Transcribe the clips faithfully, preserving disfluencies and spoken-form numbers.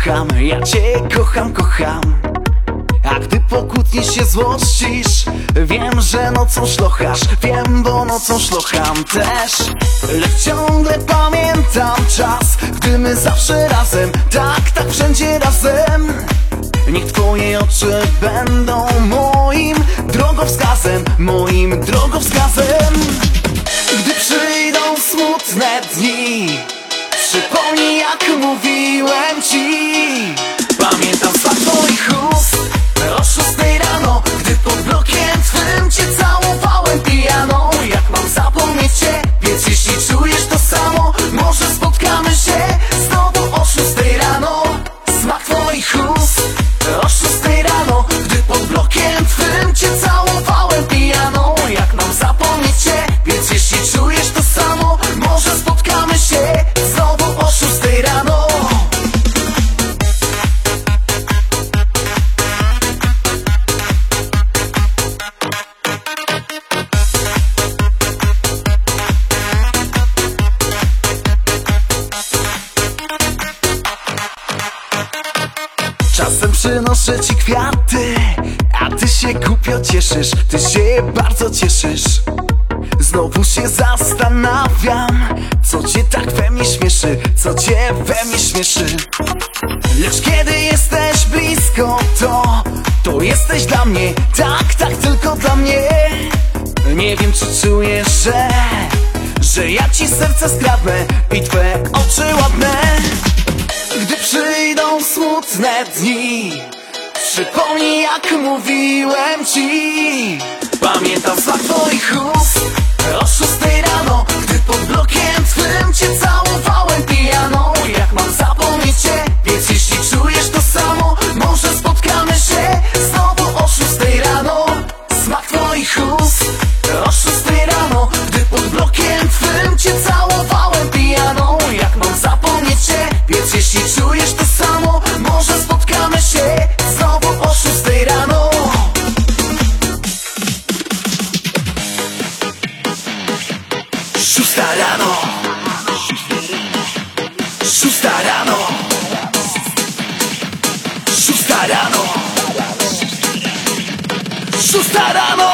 kocham, ja cię kocham, kocham. A gdy po kłótni się złościsz, wiem, że nocą szlochasz. Wiem, bo nocą szlocham też. Lecz ciągle pamiętam czas, gdy my zawsze razem, tak, tak wszędzie razem. Niech twoje oczy będą moim drogowskazem, moim drogowskazem. Gdy przyjdą smutne dni, przypomnij, jak mówiłem ci. Pamiętam smak twoich ust o szóstej rano, gdy pod blokiem twym cię całowałem pijaną. Jak mam zapomnieć cię? Więc jeśli czujesz to samo, może spotkamy się znowu o szóstej rano. Smak twoich ust o szóstej rano, gdy pod blokiem twym cię całowałem pijaną. Jak mam zapomnieć cię? Więc jeśli czujesz to samo, może spotkamy się znowu o szóstej rano. Czasem przynoszę ci kwiaty, a ty się głupio cieszysz, ty się bardzo cieszysz. Znowu się zastanawiam, co cię tak we mnie śmieszy, co cię we mnie śmieszy. Lecz kiedy jesteś blisko, to, to jesteś dla mnie, tak, tak tylko dla mnie. Nie wiem, czy czujesz, że, że ja ci serce skradnę i twe oczy ładne. Gdy przyjdą smutne dni, przypomnij, jak mówiłem ci. Pamiętam smak twoich ust o szóstej rano, gdy pod blokiem twym cię całowałem pijaną. Jak mam zapomnieć cię? Więc jeśli czujesz to samo, może spotkamy się znowu o szóstej rano. Smak twoich ust o szóstej rano, gdy pod blokiem twym cię całowałem pijaną. Jak mam zapomnieć cię? Więc jeśli czujesz to samo, może spotkamy się znowu o szóstej rano. Szósta rano, szósta rano, szósta rano, szósta rano.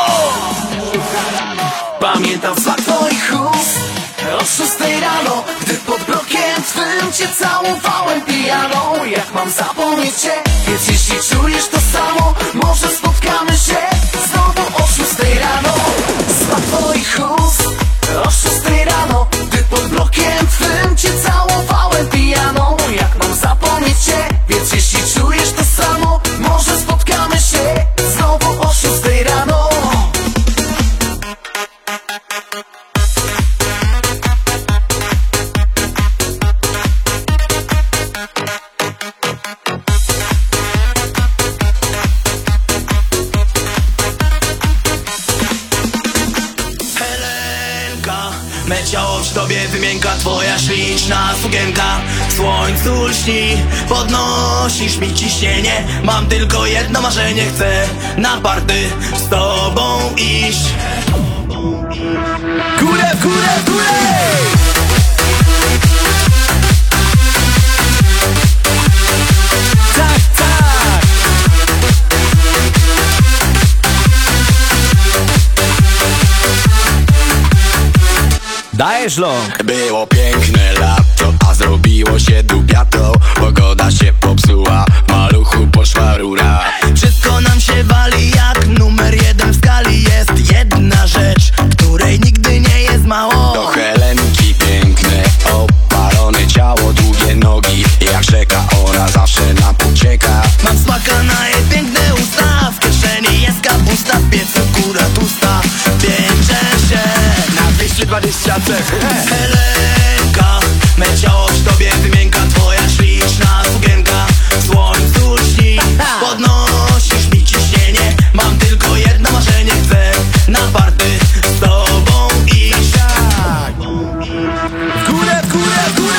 Pamiętam smak twoich ust o szóstej rano, gdy pod blokiem twym cię całowałem pijaną. Jak mam zapomnieć cię? Więc jeśli czujesz to samo, może spotkamy się znowu o szóstej rano. Smak twoich ust o szóstej rano, gdy pod blokiem twym cię całowałem pijaną. Jak mam zapomnieć cię? Więc jeśli czujesz to samo, może spotkamy się znowu o szóstej rano. Me ciało w tobie wymięka, twoja śliczna sukienka w słońcu lśni, podnosisz mi ciśnienie. Mam tylko jedno marzenie, chcę na party z tobą iść. Górę, w górę, w górę! Dajesz long. Było piękne lato, a zrobiło się dubiato. Pogoda się popsuła, w maluchu poszła rura. Wszystko nam się wali jak numer jeden w skali. Jest jedna rzecz, której nigdy nie jest mało. Do Helenki piękne, opalone ciało, długie nogi, jak rzeka, ona zawsze nam ucieka. Mam smaka na jej piękne usta, w kieszeni jest kapusta, w piecu góra tłusta. Pięknie się na dwieście dwadzieścia cech. Helenka, me ciało w tobie wymięka, twoja śliczna sukienka w słońcu lśni, podnosisz mi ciśnienie. Mam tylko jedno marzenie, chcę na party z tobą iść. W górę, w górę, w górę!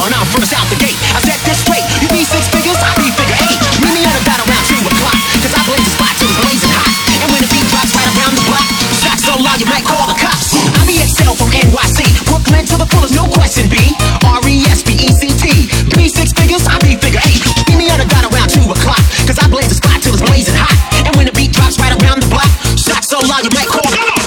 now, and I'm first out the gate. I set this straight. You be six figures, I be figure eight. Meet me on the dot around two o'clock, cause I blaze the spot till it's blazing hot. And when the beat drops right around the block, shots so loud you might call the cops. I'm E X L from N Y C, Brooklyn to the fullest, no question, B. R E S P E C T. Give me six figures, I be figure eight. Meet me on the dot around two o'clock, cause I blaze the spot till it's blazing hot. And when the beat drops right around the block, shots so loud you might call the cops.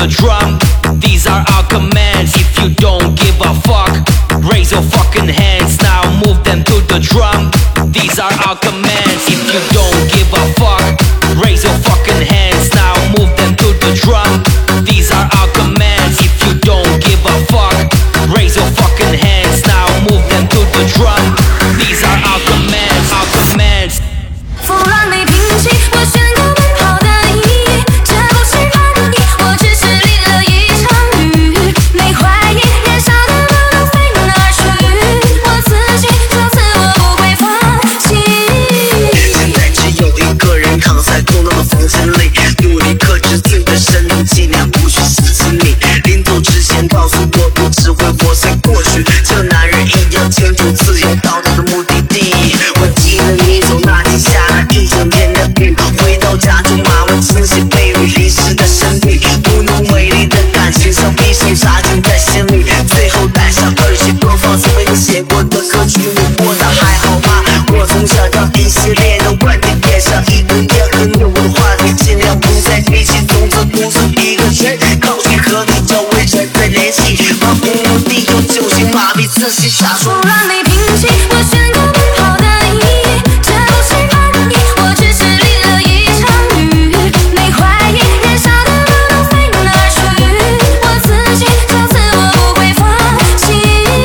the drum. These are our commands. If you don't give a fuck, raise your fucking hands now, move them to the drum. These are our commands. If you don't give a fuck, raise your fucking hands now, move them to the drum. These are our commands. If you don't give a fuck, raise your fucking hands now, move them to the drum. These are our commands, our commands. 风浪没平息，我宣告奔跑的意义。这不是叛逆，我只是淋了一场雨。没怀疑，年少的我都飞哪儿去？我自己告诉我不会放弃。 现在只有一个人躺在空荡的房间里，努力克制自己的身体，尽量不去想起你。临走之前告诉我，不只会活在过去，像男人一样清楚自己到达的目的地。我记得你走那天下了一整天的雨，回到家中马上清洗被雨淋湿的身体，无能为力的感情像匕首扎进在心里，最后戴上耳机播放曾为你写过的歌曲，你过得还好吗？我总想让一系列的问题变上一堆烟和你我的话题，尽量不再提起，从此独自一个人靠近和你周围人的联系，把目的用酒精麻痹自己，傻说风浪没平息，我宣告奔跑的意义。这不是叛逆，我只是淋了一场雨。没怀疑，年少的我都飞哪儿去？我自己告诉我不会放弃。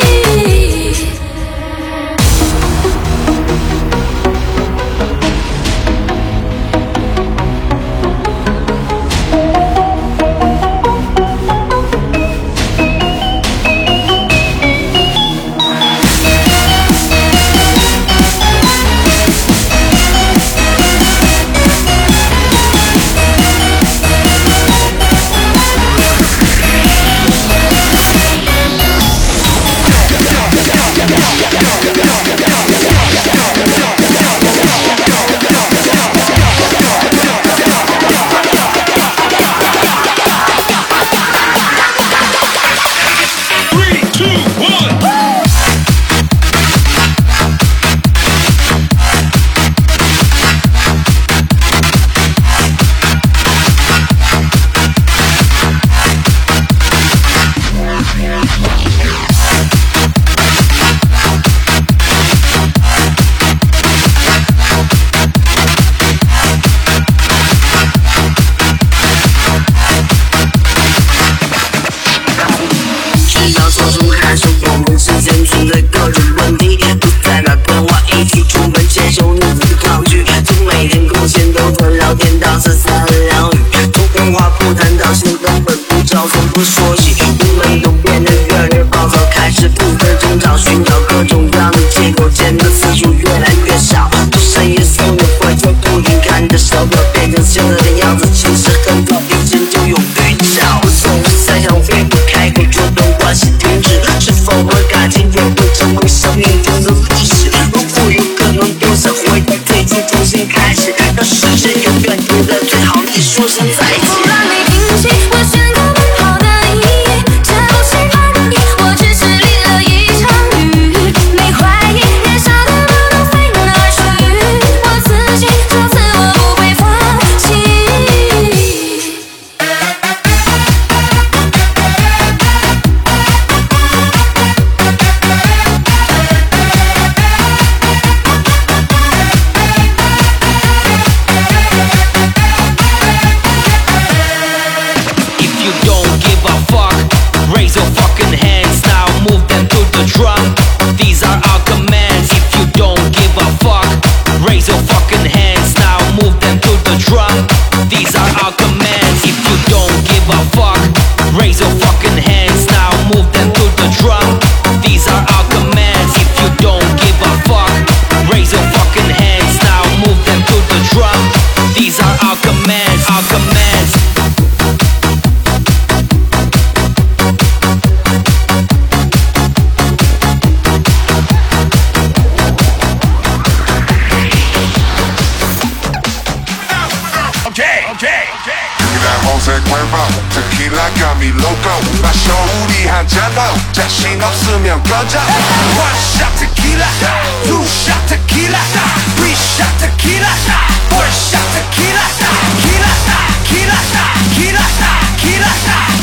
不说起，我们都变得越来越暴躁，开始不分争吵，寻找各种各样的借口，见的次数越来越少。多深夜送你回家，不停看你的手表，变成现在的样子，其实很早以前就有对照。我总是在想，会不开口就等关系停止，是否和感情也会成为生命中的历史？如果有可能，多想回到最初，重新开始，让时间永远停在最好你说声再见。 风浪没平息，我宣告奔跑的意义。这不是叛逆，我只是淋了一场雨。没怀疑，年少的我都飞哪儿去？我自己告诉我不会放弃。 Raise your fucking hands now, move them to the drum. These are our commands. If you don't give a fuck, raise your fucking hands now, move them to the drum. These are our commands. If you don't give a fuck, raise your fucking hands now, move them to the drum. These are our commands. If you don't give a fuck, raise your fucking hands now, move them to the drum. These are our commands, our commands. Tequila got me loco. 나 쇼리 한 잔 더. 자신 없으면 꺼져. One shot tequila, two shot tequila, three shot tequila, four shot tequila, tequila, tequila, tequila, tequila.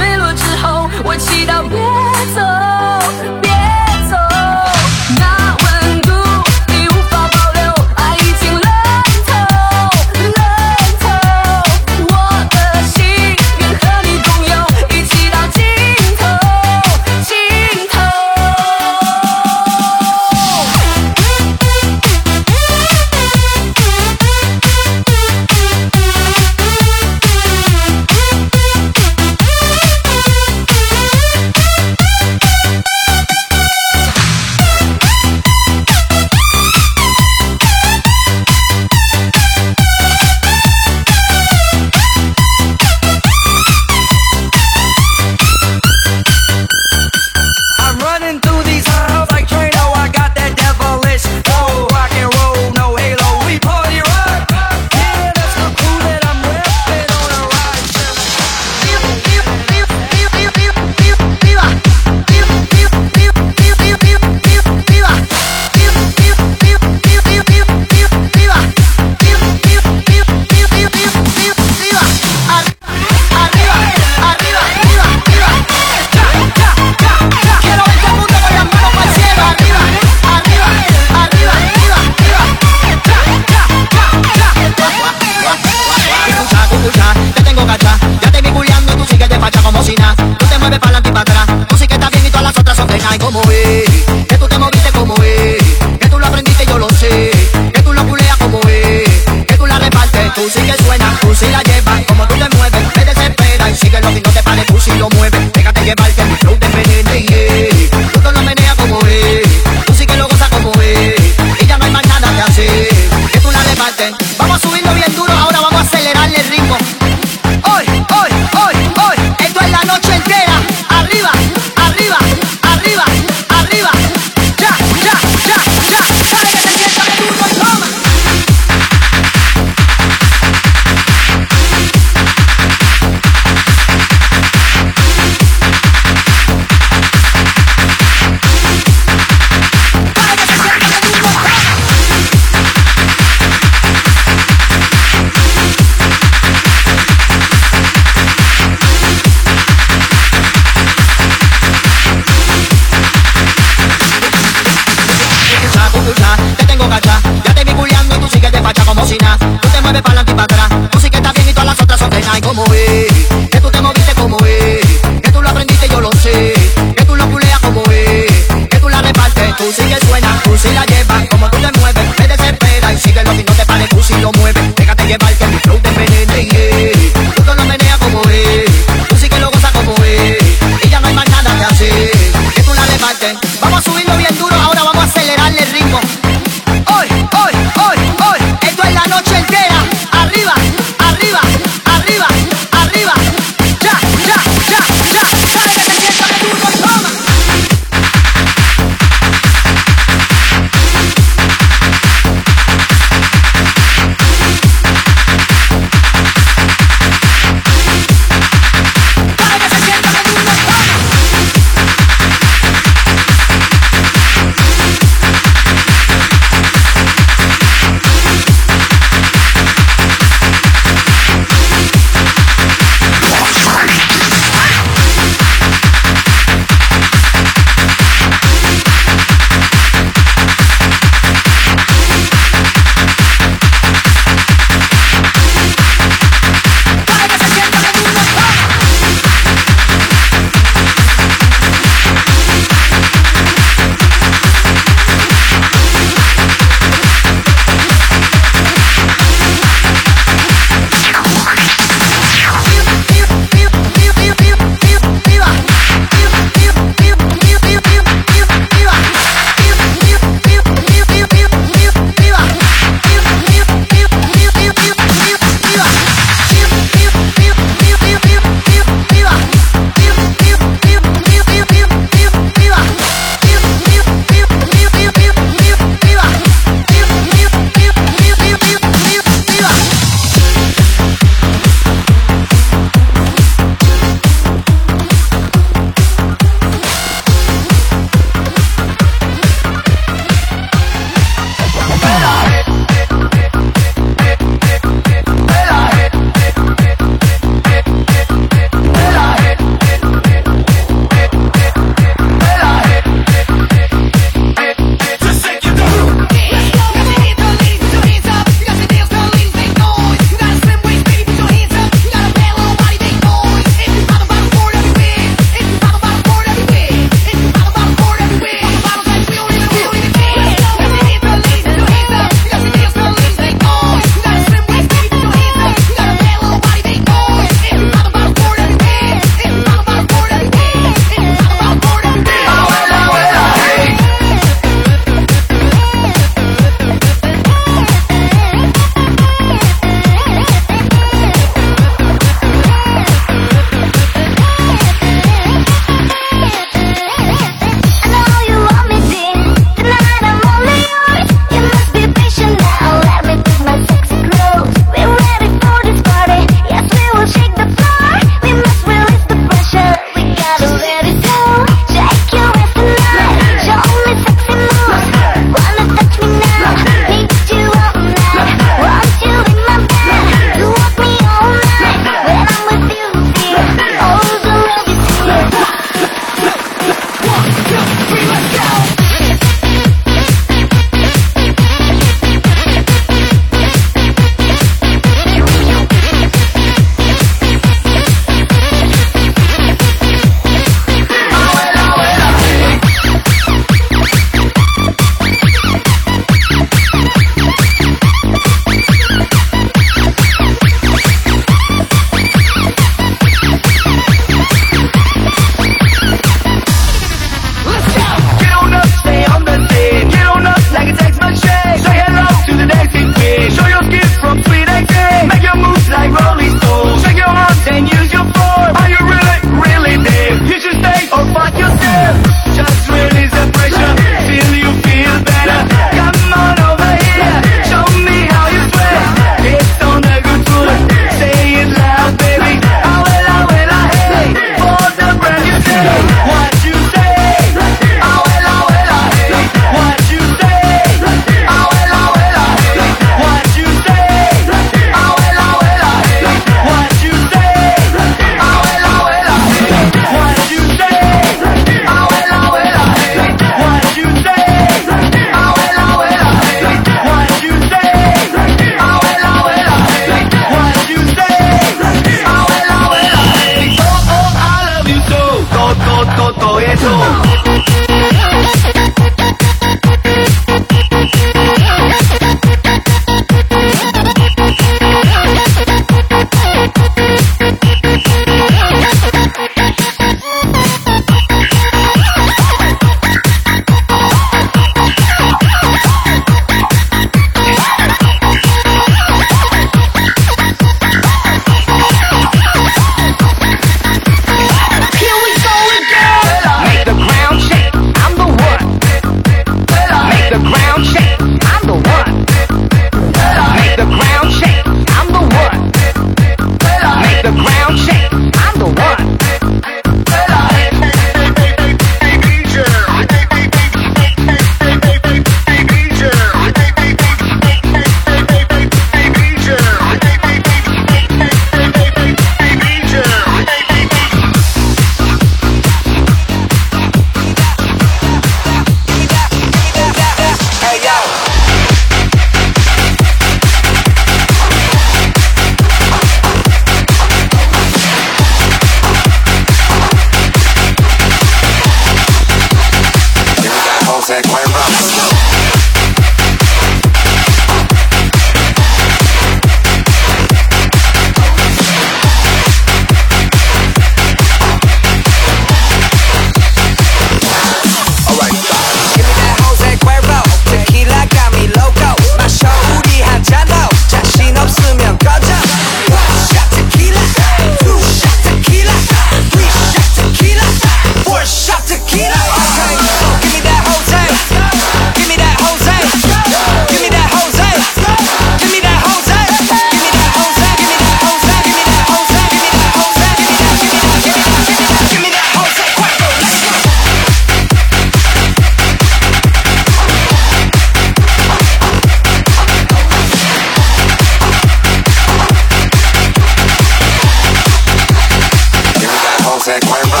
Jose Cuervo.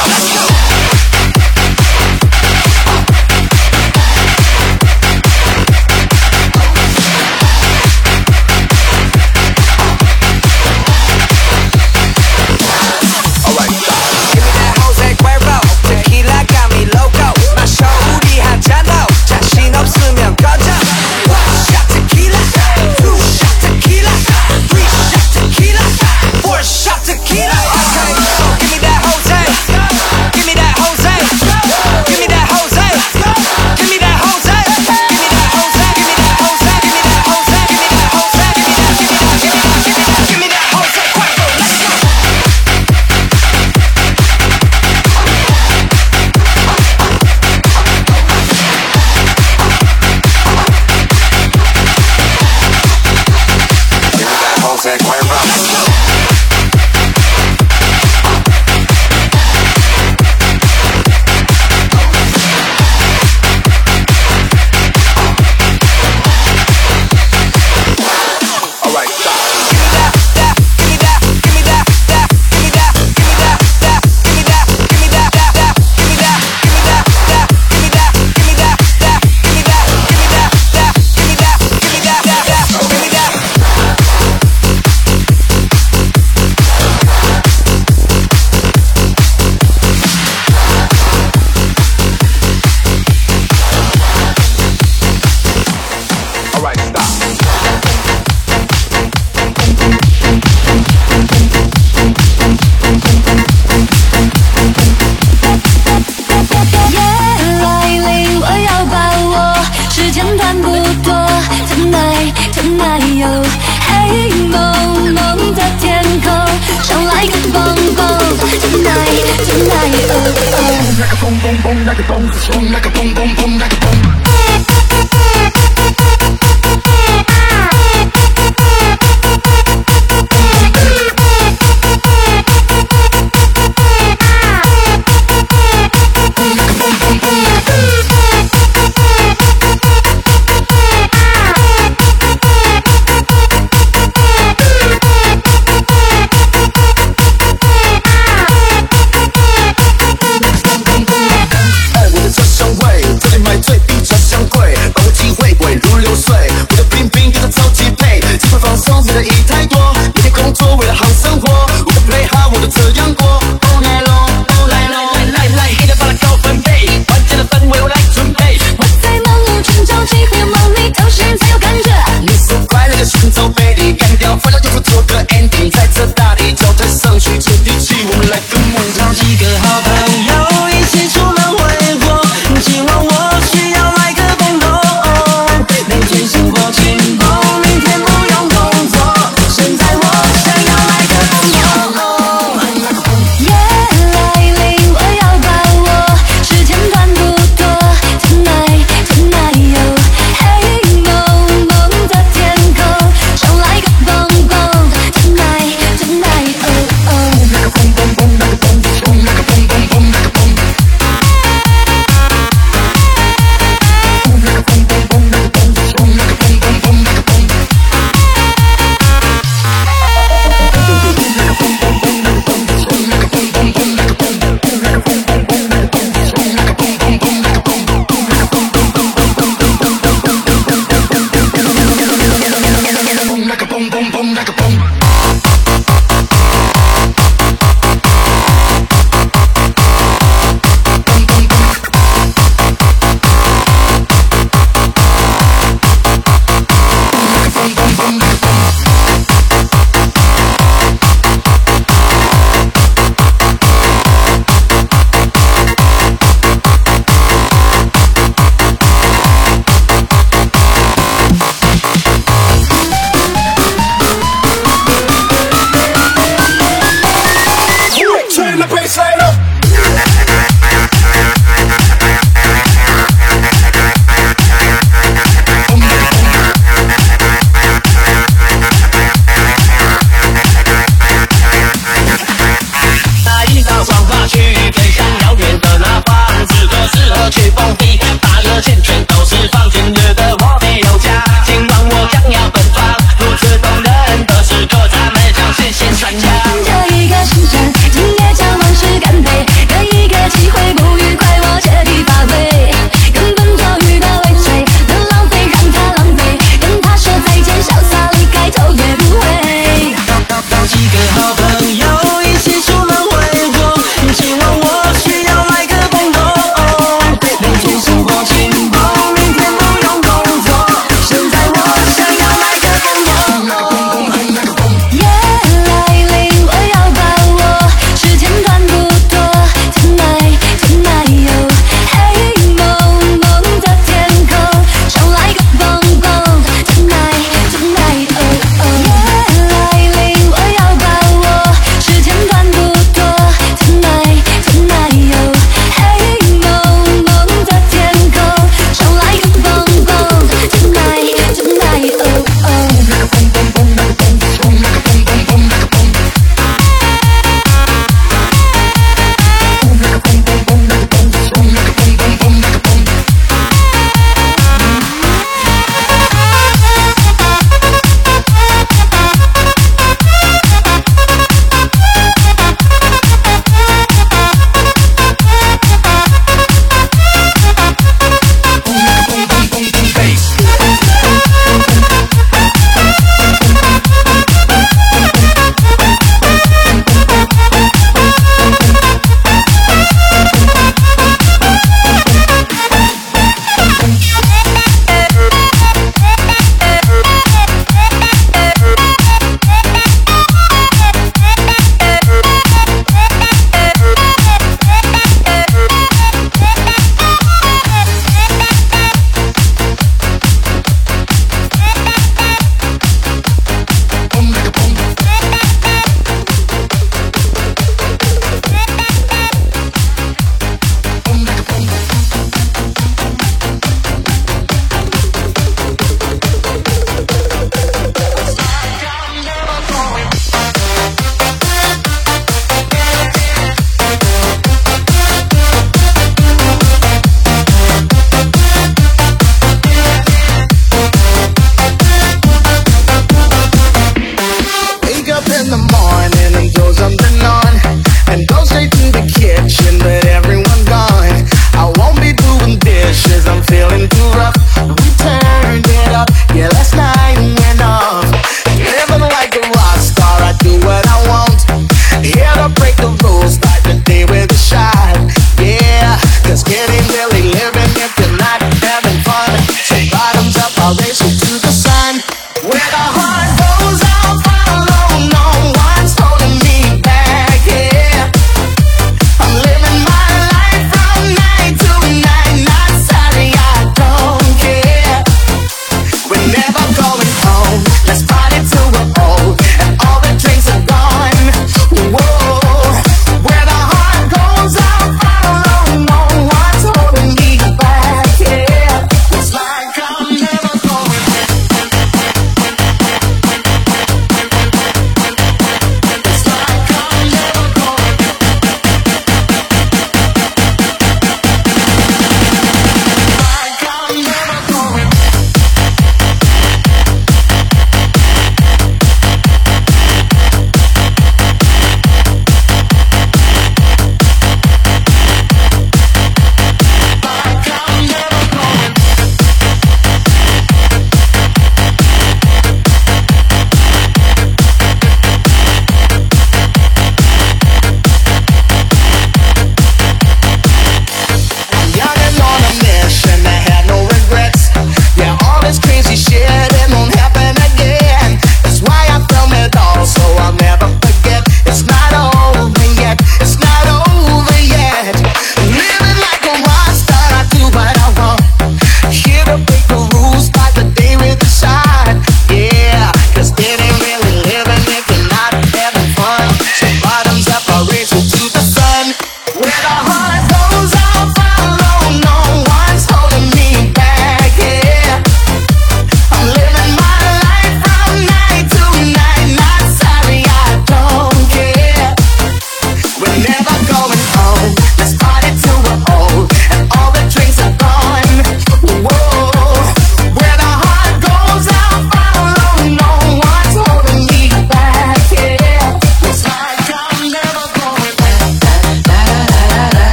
一太多，每天工作为了好生活，为了 play hard，我都这样过。